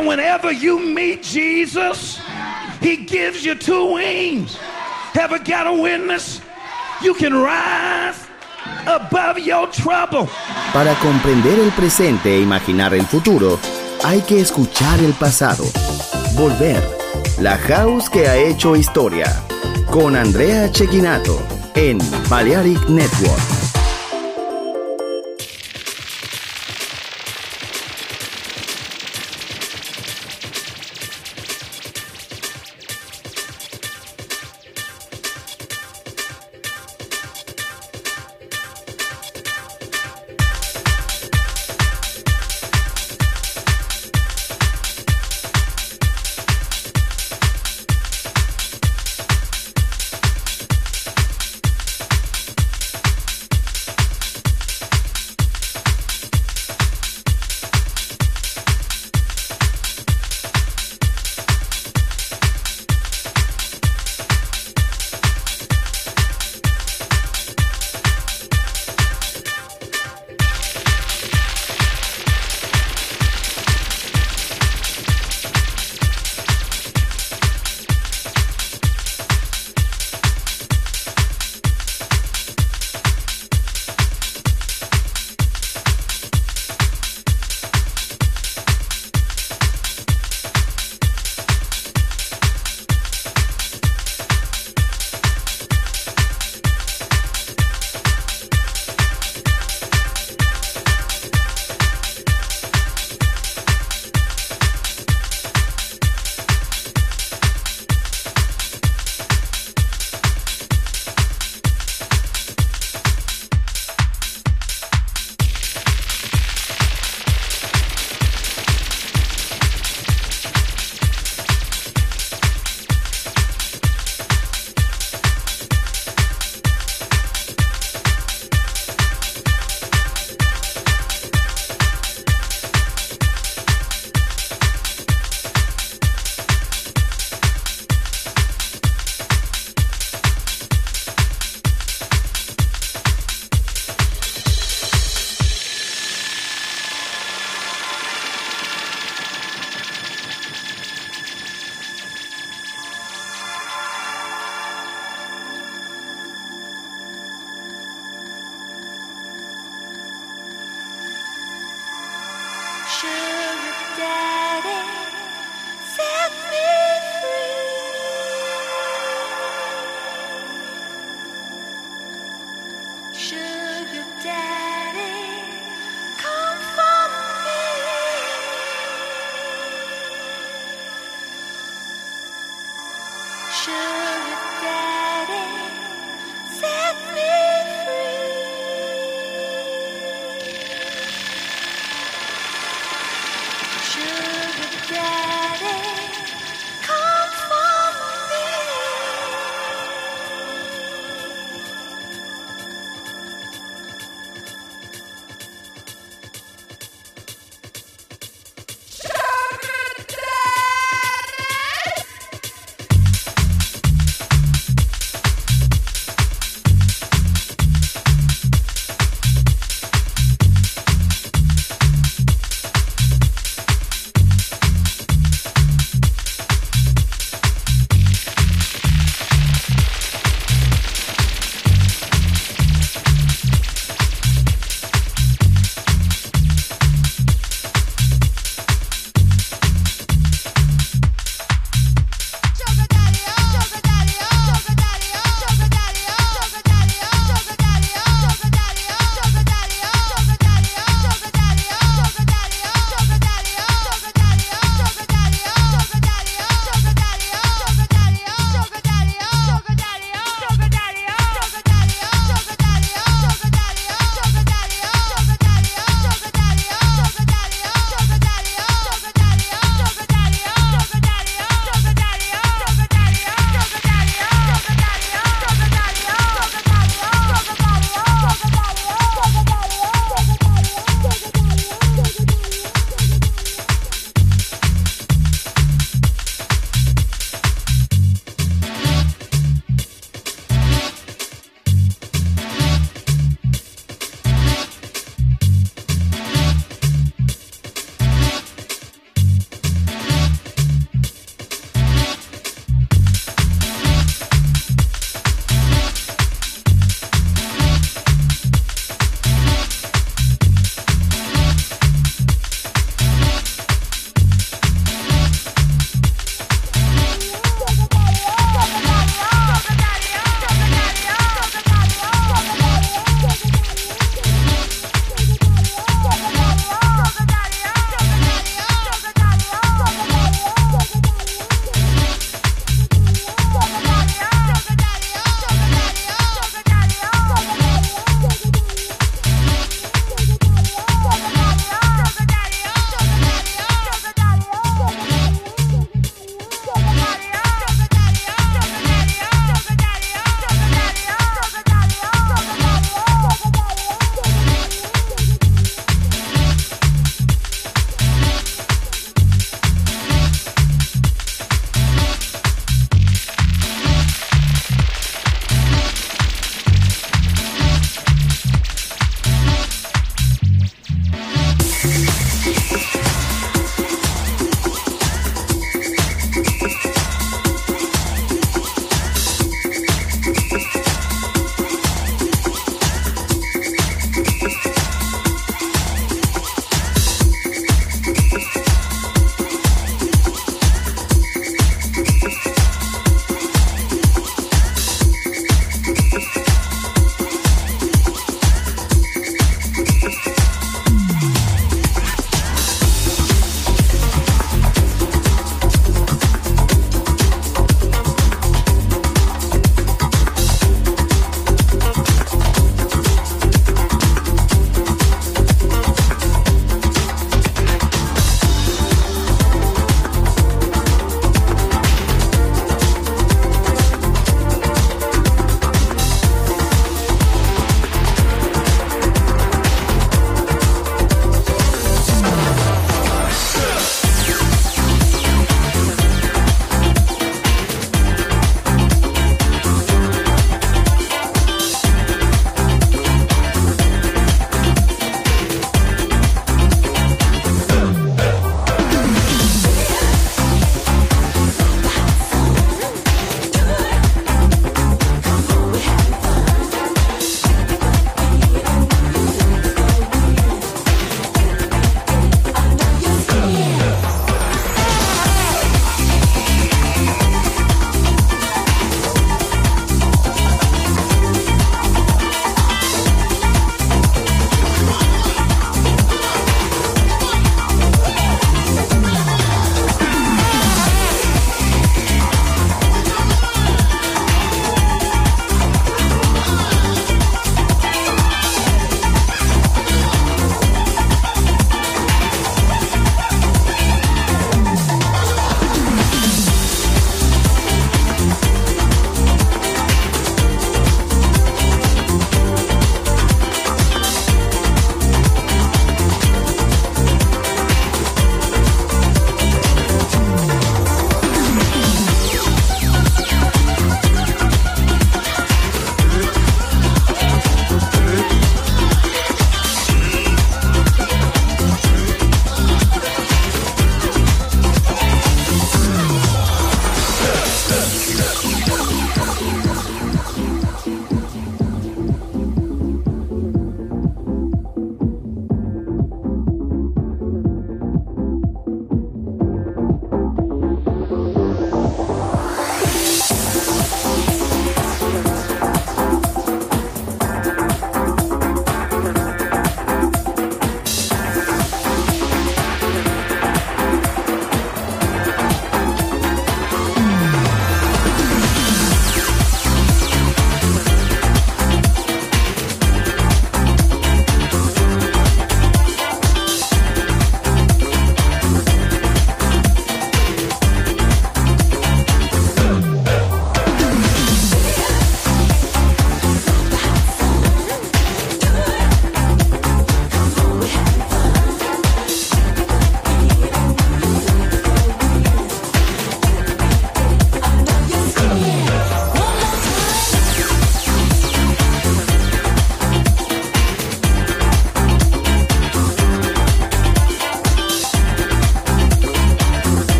And whenever you meet Jesus, he gives you two wings. Ever got a witness? You can rise above your trouble. Para comprender el presente e imaginar el futuro, hay que escuchar el pasado. Volver. La House que ha hecho historia. Con Andrea Cecchinato en Balearic Network.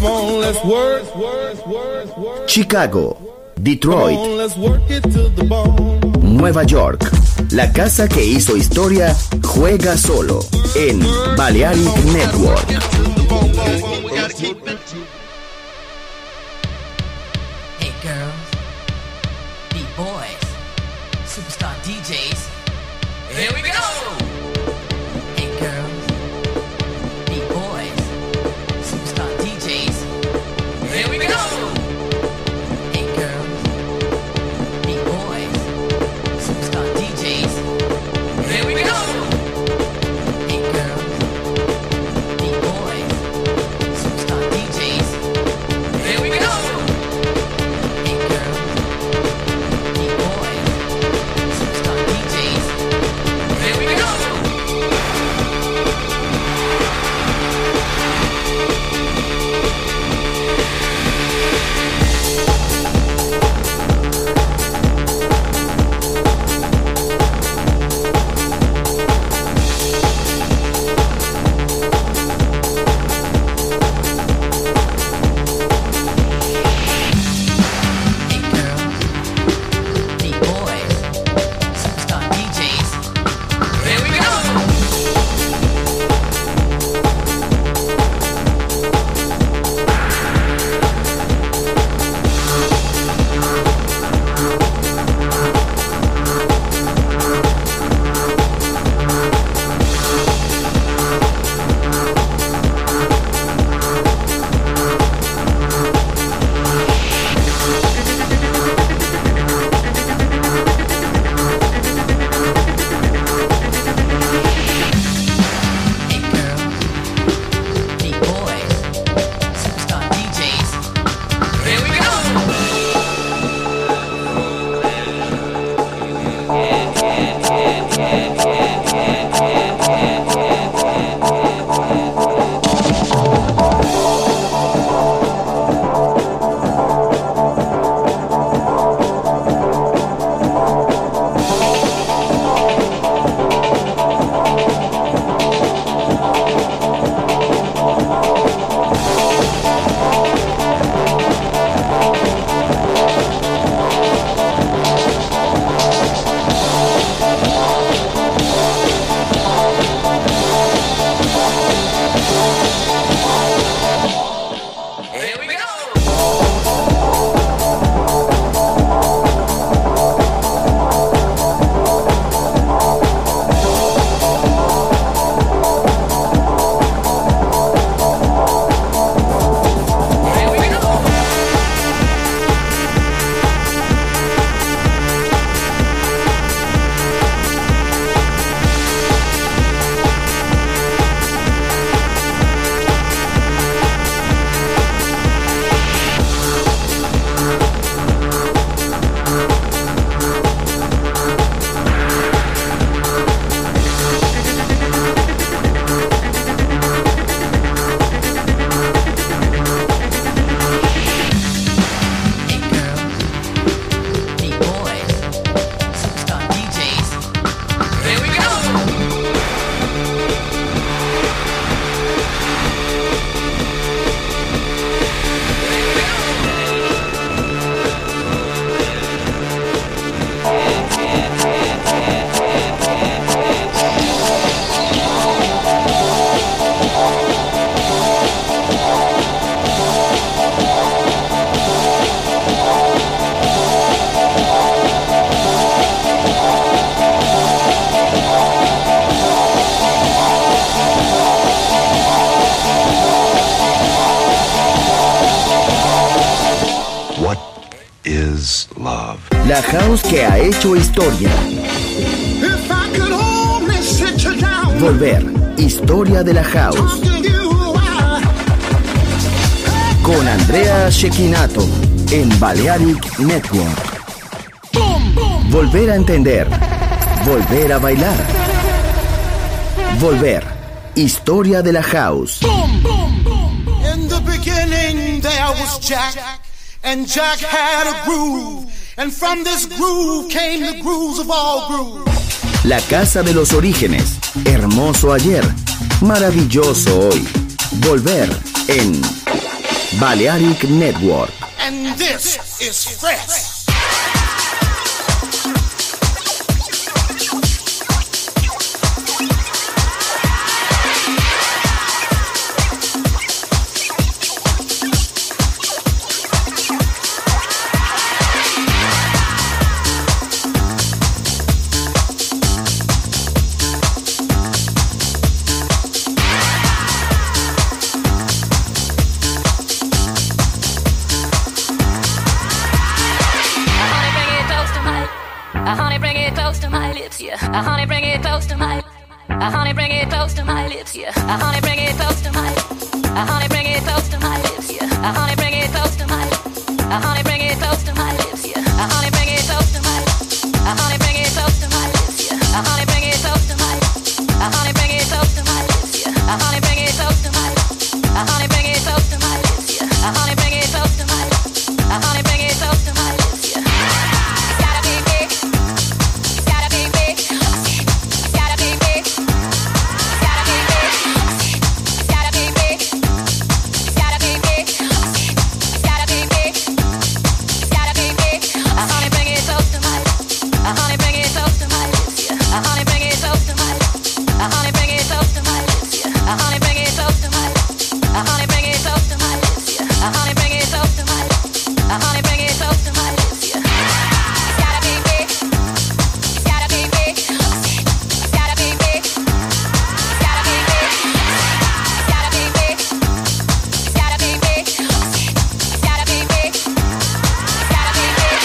Chicago, Detroit, Nueva York. La casa que hizo historia juega solo en Balearic Network. Hey girls, beat boys, superstar DJs. Here we go. Hey girls, beat boys, superstar DJs. Here we go. Hey girls, beat boys, superstar DJs. Here we go. Hey girls, beat boys, superstar DJs. Here we go. Hey girls, beat boys, superstar DJs. Here we go. Hey girls, beat boys, superstar DJs. Here we go. Hey girls, beat boys, superstar DJs. Here we go. Here we go. Here we go. Hey girls, beat boys, superstar DJs. Here we go. What is love? La house que ha hecho historia. If I could only sit you down, Volver. Historia de la house. talk to you a while. Con Andrea Cecchinato en Balearic Network. Volver a entender. Volver a bailar. Volver. Historia de la house. In the beginning there was Jack, and Jack had a groove, and from this groove came the grooves of all grooves. La casa de los orígenes. Hermoso ayer. Maravilloso hoy. Volver en Balearic Network. And this is Fresh. Honey, bring it close to my lips, yeah. Honey, bring it close to my. Honey, bring it close to my lips, yeah. Honey, bring it close to my. Honey, bring it close to my lips, yeah. Honey, bring it close to my. Honey, bring it close to my lips, yeah. Honey, bring it close to my. Honey, bring it close to my lips, yeah. Honey, bring it close to my. Honey, bring it close to my lips, yeah. Honey, bring it close to my. Honey, bring it close to my lips, yeah. Honey, bring it close to my. Honey, bring it close to my lips, yeah. It's gotta be big. It's gotta be big. It's gotta be big. It's gotta be big. It's gotta be big. It's gotta be big. It's gotta be big. It's gotta be big. Honey, bring it close to my. Honey, bring it close to my lips, yeah. Honey, bring it close to my. Honey, bring it close to my lips, yeah. Honey, bring it close to my. Honey, bring it close to my lips, yeah. Honey, bring it close to my. Honey, bring it close to my lips, yeah. It's gotta be big. It's gotta be big. It's gotta be big. It's gotta be big. It's gotta be big. It's gotta be big. It's gotta be big. It's gotta be big.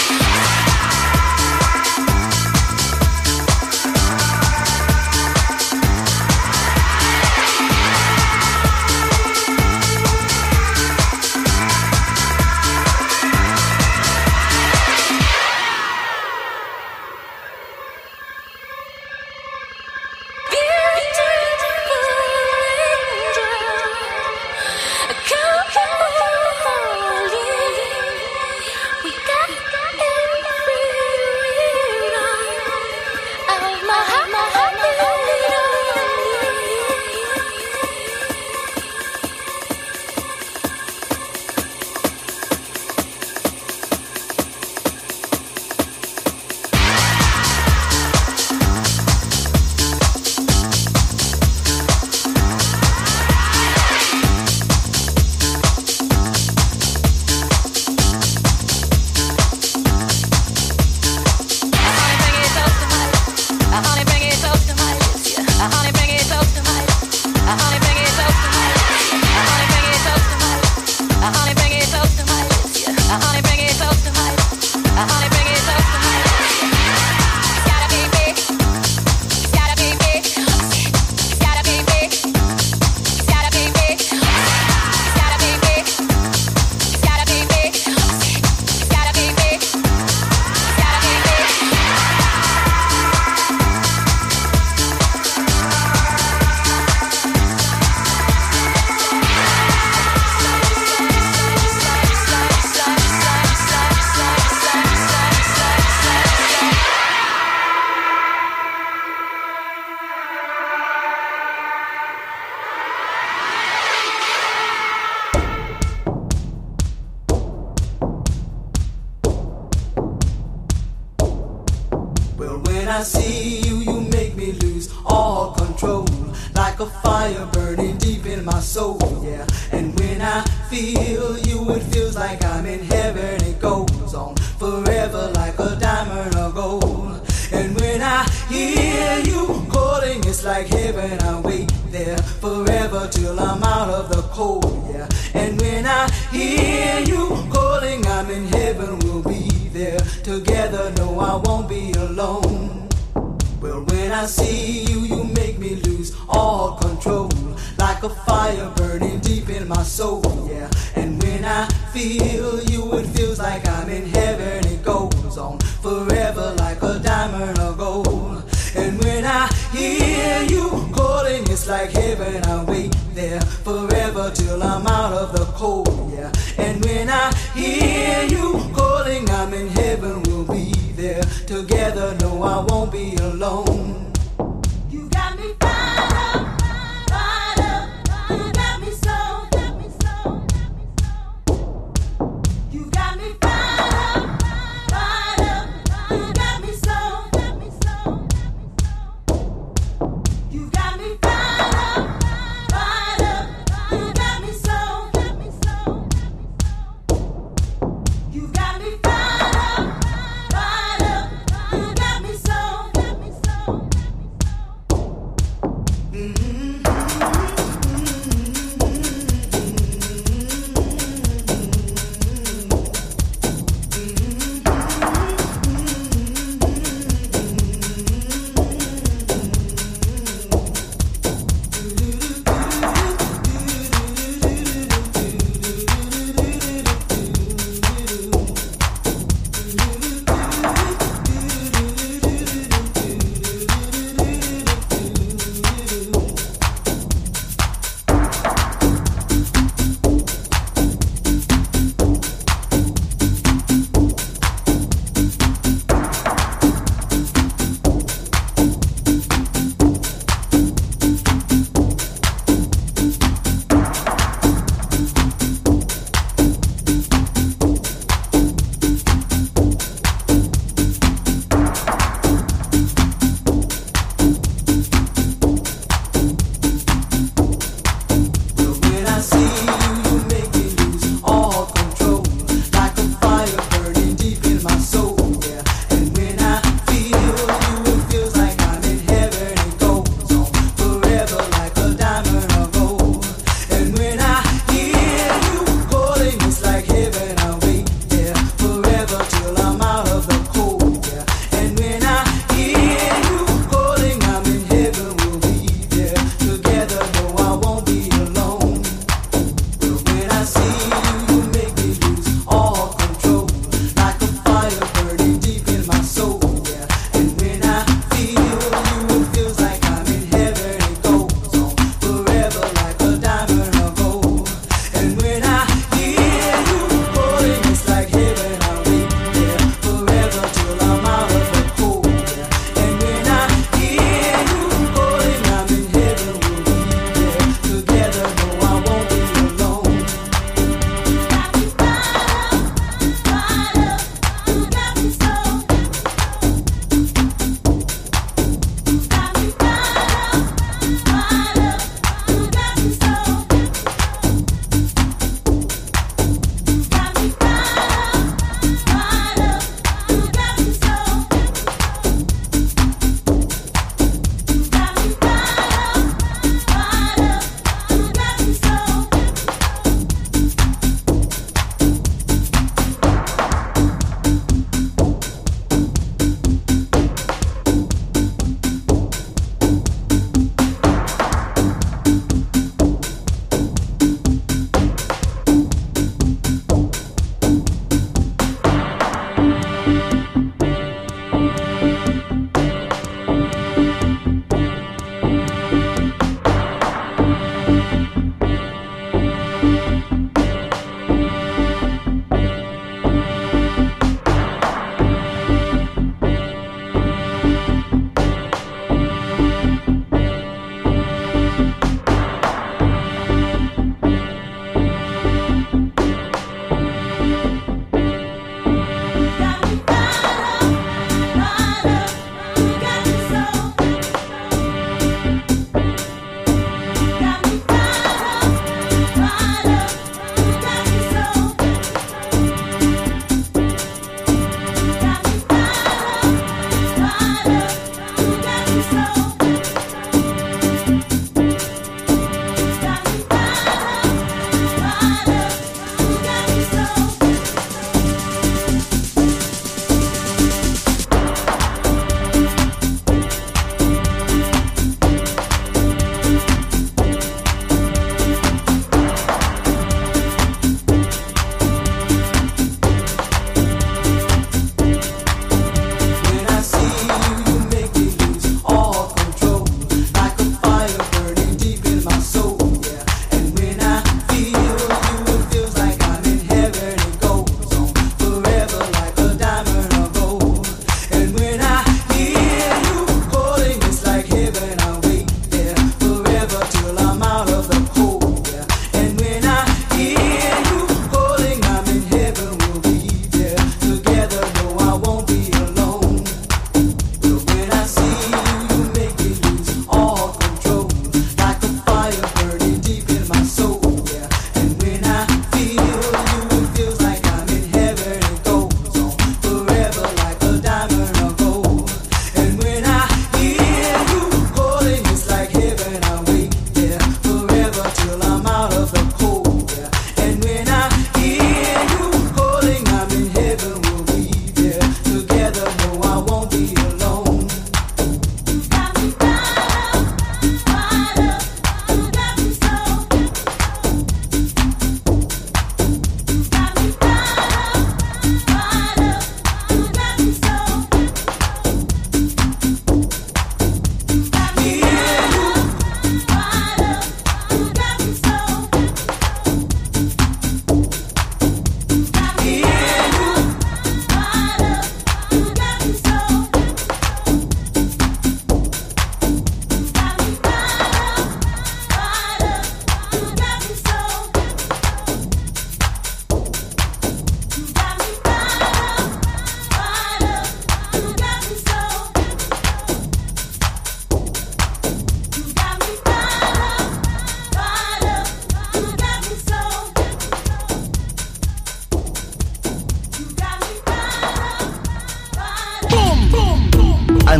Well, when I see you, you make me lose all control. Like a fire burning deep in my soul, yeah. And when I feel you, it feels like I'm in heaven. It goes on forever like a diamond or gold. And when I hear you calling, it's like heaven. I wait there forever till I'm out of the cold, yeah. And when I hear you calling, I'm in heaven. We'll be there together. No, I won't be alone. Well, when I see you, you make me lose all control. Like a fire burning deep in my soul, yeah. And when I feel you, it feels like I'm in heaven. It goes on forever like a diamond or gold. And when I hear you calling, it's like heaven. I wait there forever till I'm out of the cold, yeah. And when I hear you calling, I'm in heaven. We'll be there together. No, I won't be alone. You got me fired up, fired up. You got me so, got me so, got me so.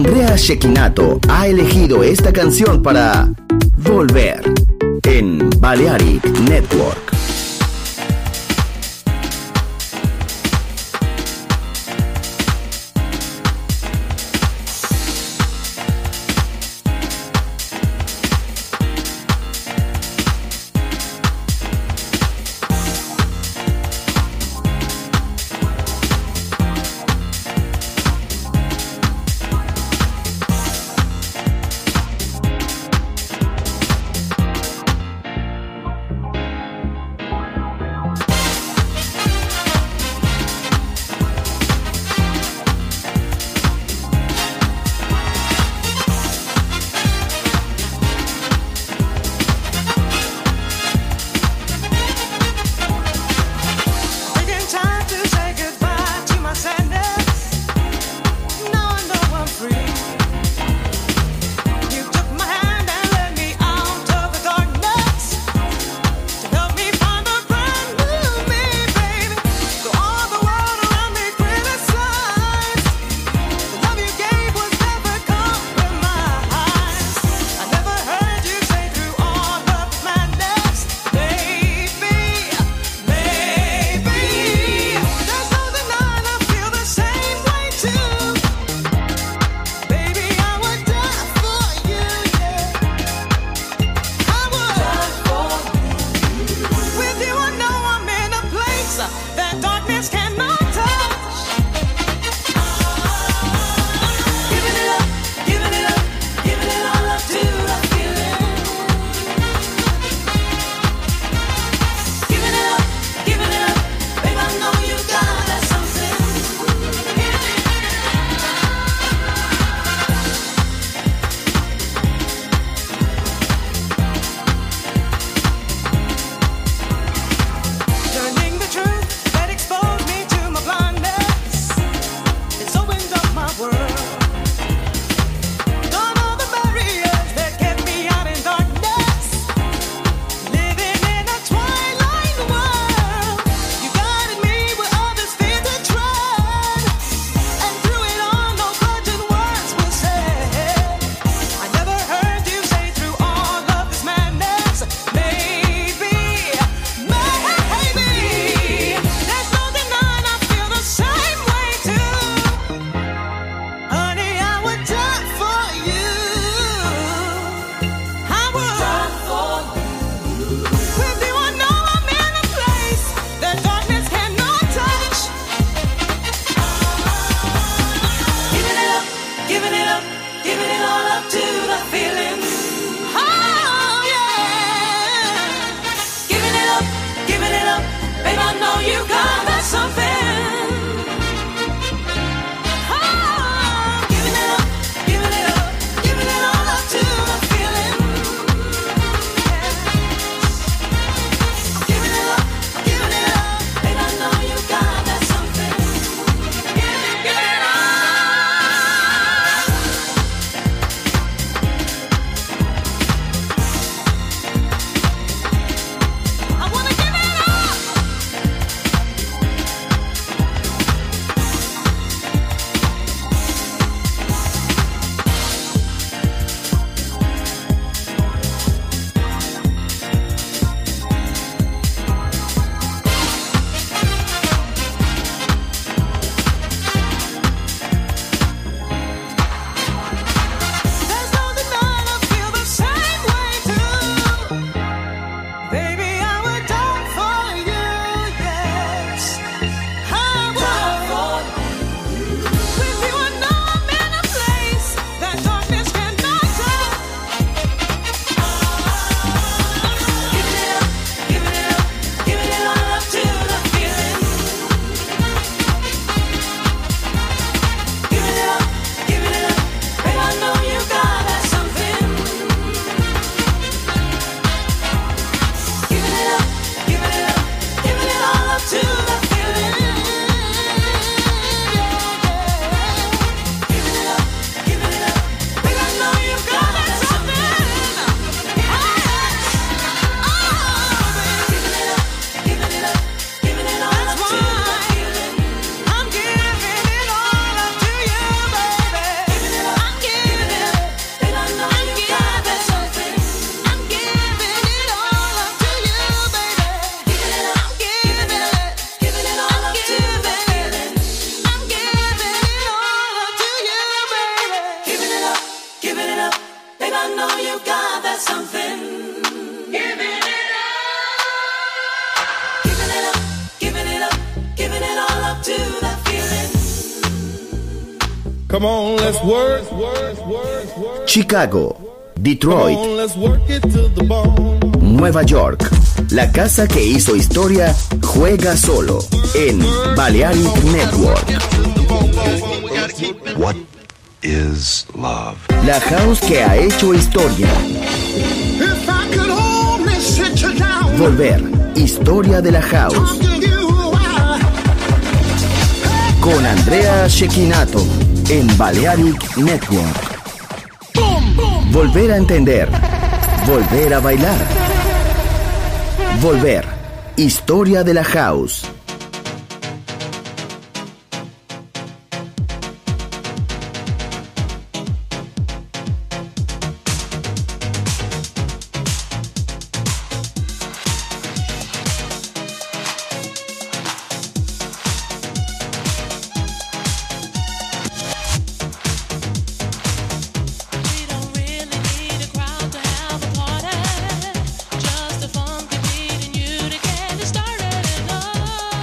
Andrea Cecchinato ha elegido esta canción para Volver en Balearic Network. Come on, let's work. Chicago, Detroit, Come on, let's work it to the bone. Nueva York. La casa que hizo historia juega solo en Balearic Network. What is love? La house que ha hecho historia. If I could only sit you down, Volver. Historia de la house. talking you why. Con Andrea Cecchinato en Balearic Network. Volver a entender. Volver a bailar. Volver. Historia de la house. We don't really need a crowd to have a party. Just a funky beat and you to get it started. And oh,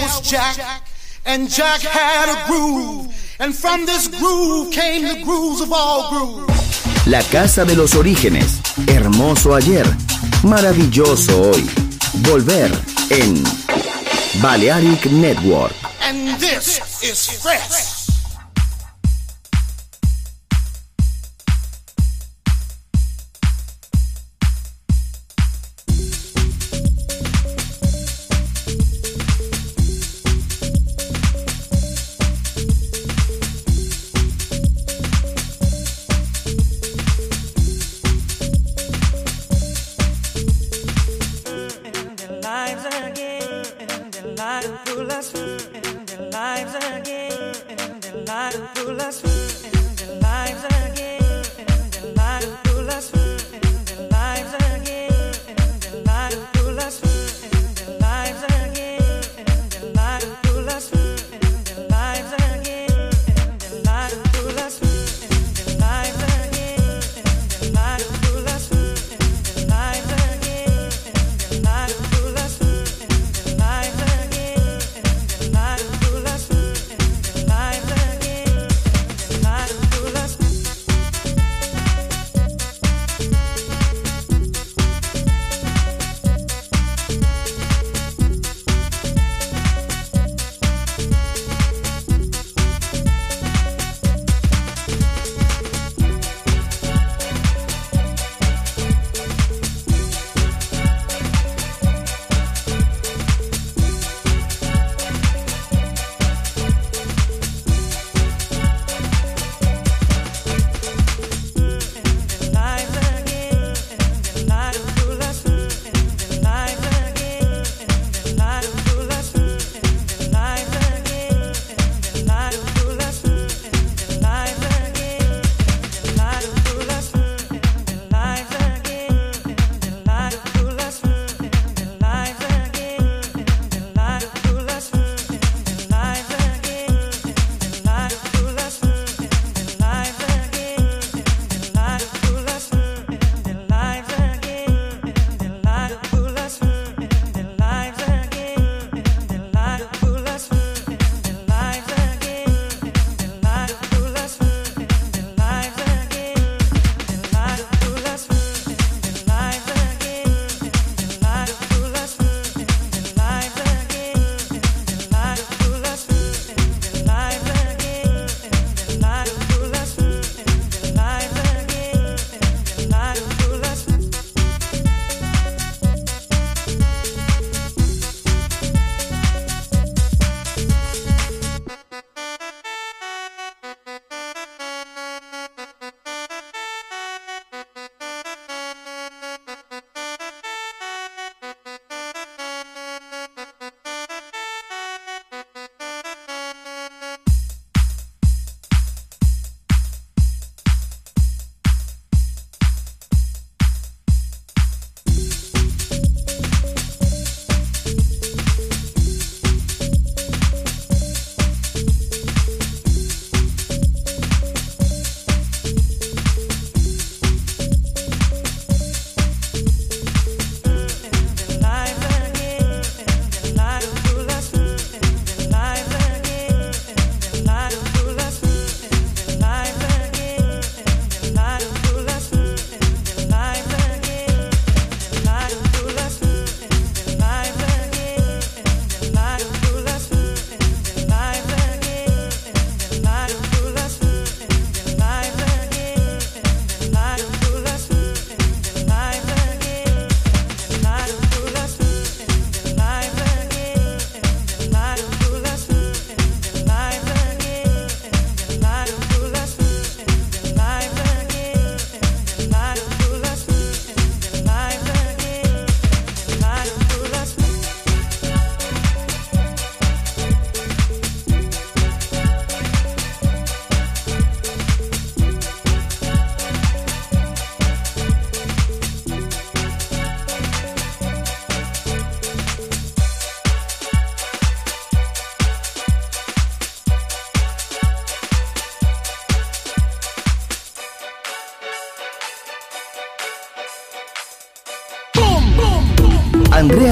was Jack, and Jack had a groove, and from this groove came the grooves of all grooves. La casa de los orígenes, hermoso ayer, maravilloso hoy. Volver en Balearic Network. And this is fresh.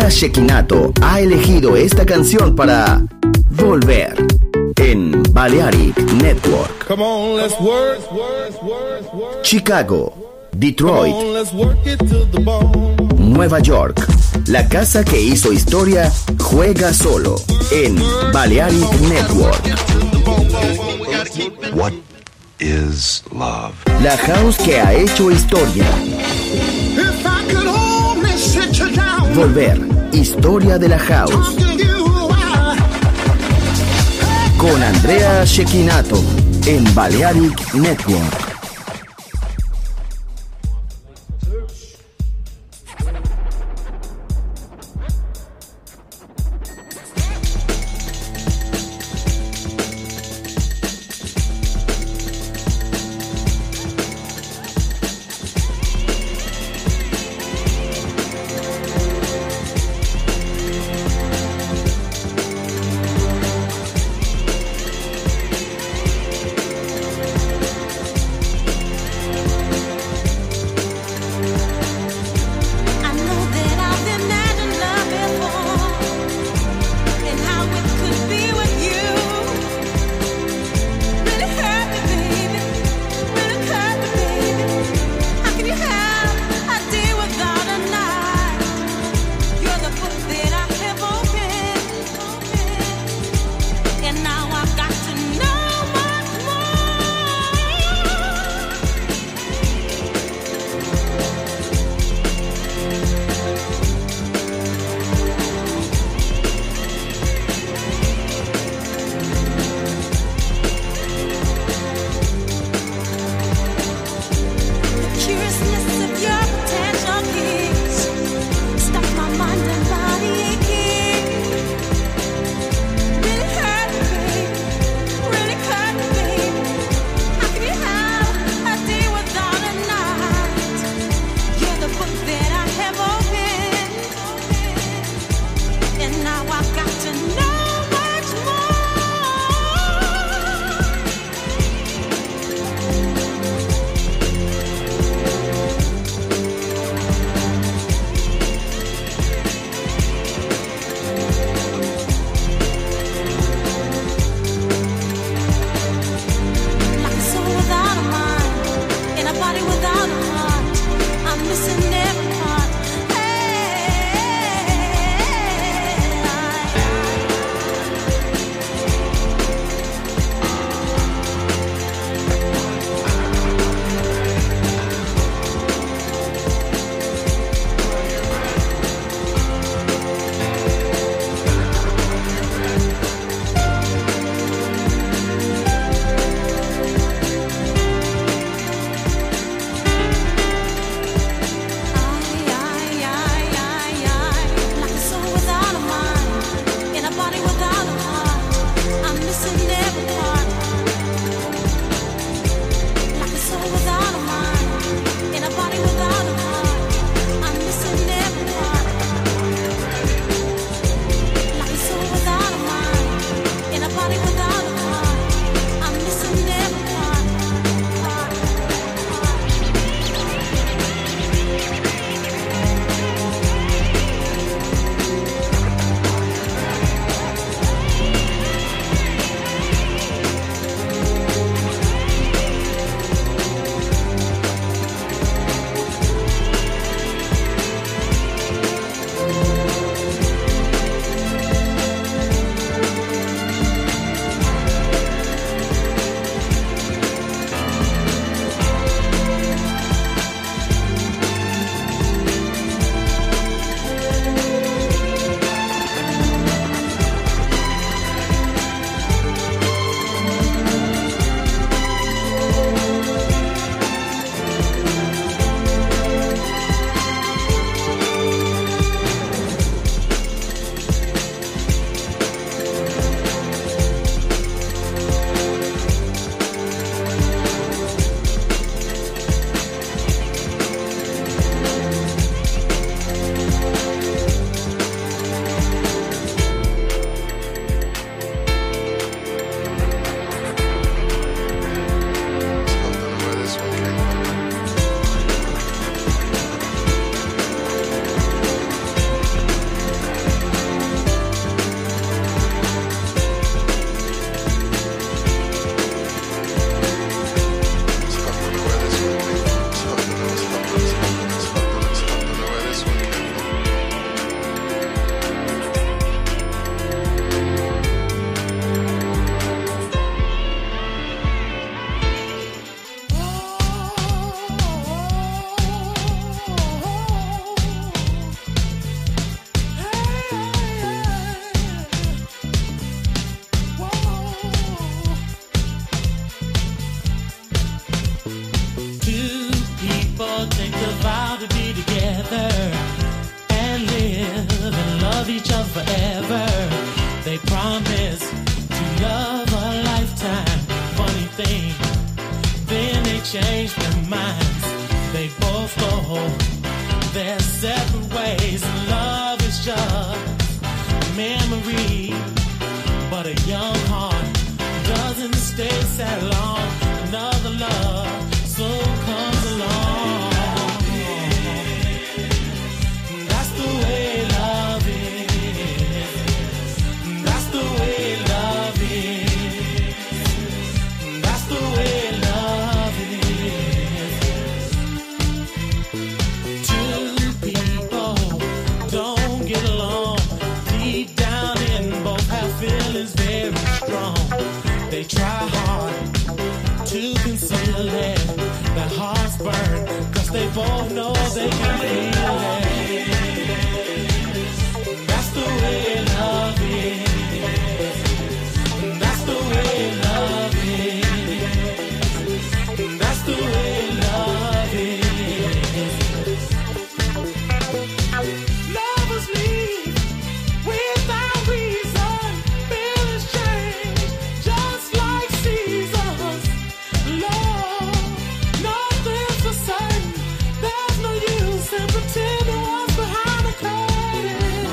Andrea Cecchinato ha elegido esta canción para volver en Balearic Network. Come on, let's work. Chicago, Come Detroit, on, let's work it to the bone. Nueva York. La casa que hizo historia juega solo en Balearic Network. What is love? La house que ha hecho historia. If I could only sit you down, Volver, historia de la house. talk to you a while. Con Andrea Cecchinato en Balearic Network. forever. They promise to love a lifetime. Funny thing, then they change their minds. They both go their separate ways. Love is just a memory, but a young heart doesn't stay sad long. Another love soon comes along. That's the way love is. That's the way love is. That's the way love is. Two people don't get along. Deep down in both have feelings very strong. They try hard to conceal it. Their hearts burn, cause they both know they can feel it. That's the way love is. That's the way love is. That's the way love is. Lovers leave without reason. Feelings change just like seasons. Love, nothing's for certain. There's no use in pretending what's behind the curtain.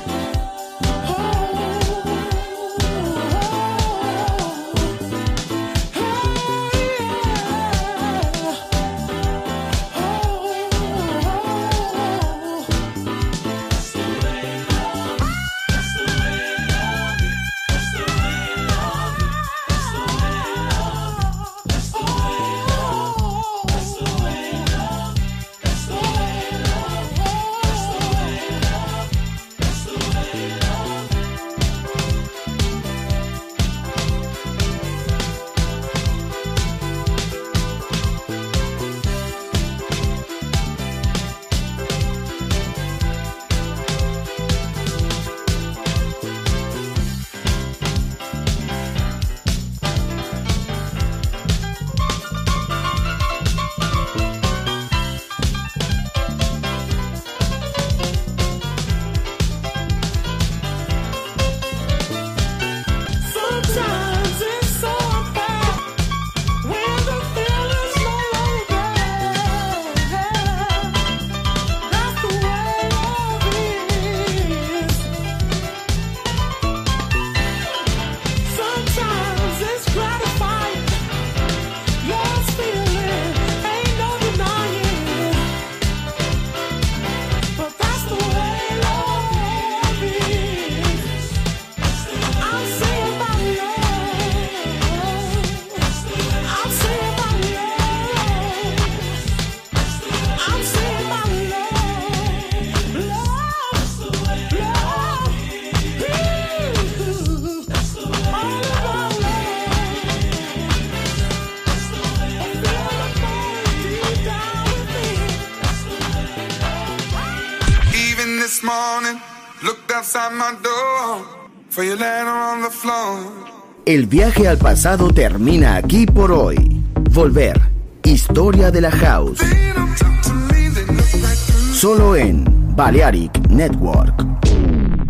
Sometimes it's so unfair when the feeling's no longer there. That's the way love is. Sometimes it's gratifying. Love's feeling ain't no denying. But that's the way love is. I'm saying my love. I'm saying my love. I'm saying my love. Love, love. All about love. I feel the burn deep down within. Even this morning, looked outside my door for your letter on the floor. El viaje al pasado termina aquí por hoy. Volver. Historia de la House. They don't talk to me, they look right through. Solo en Balearic Network.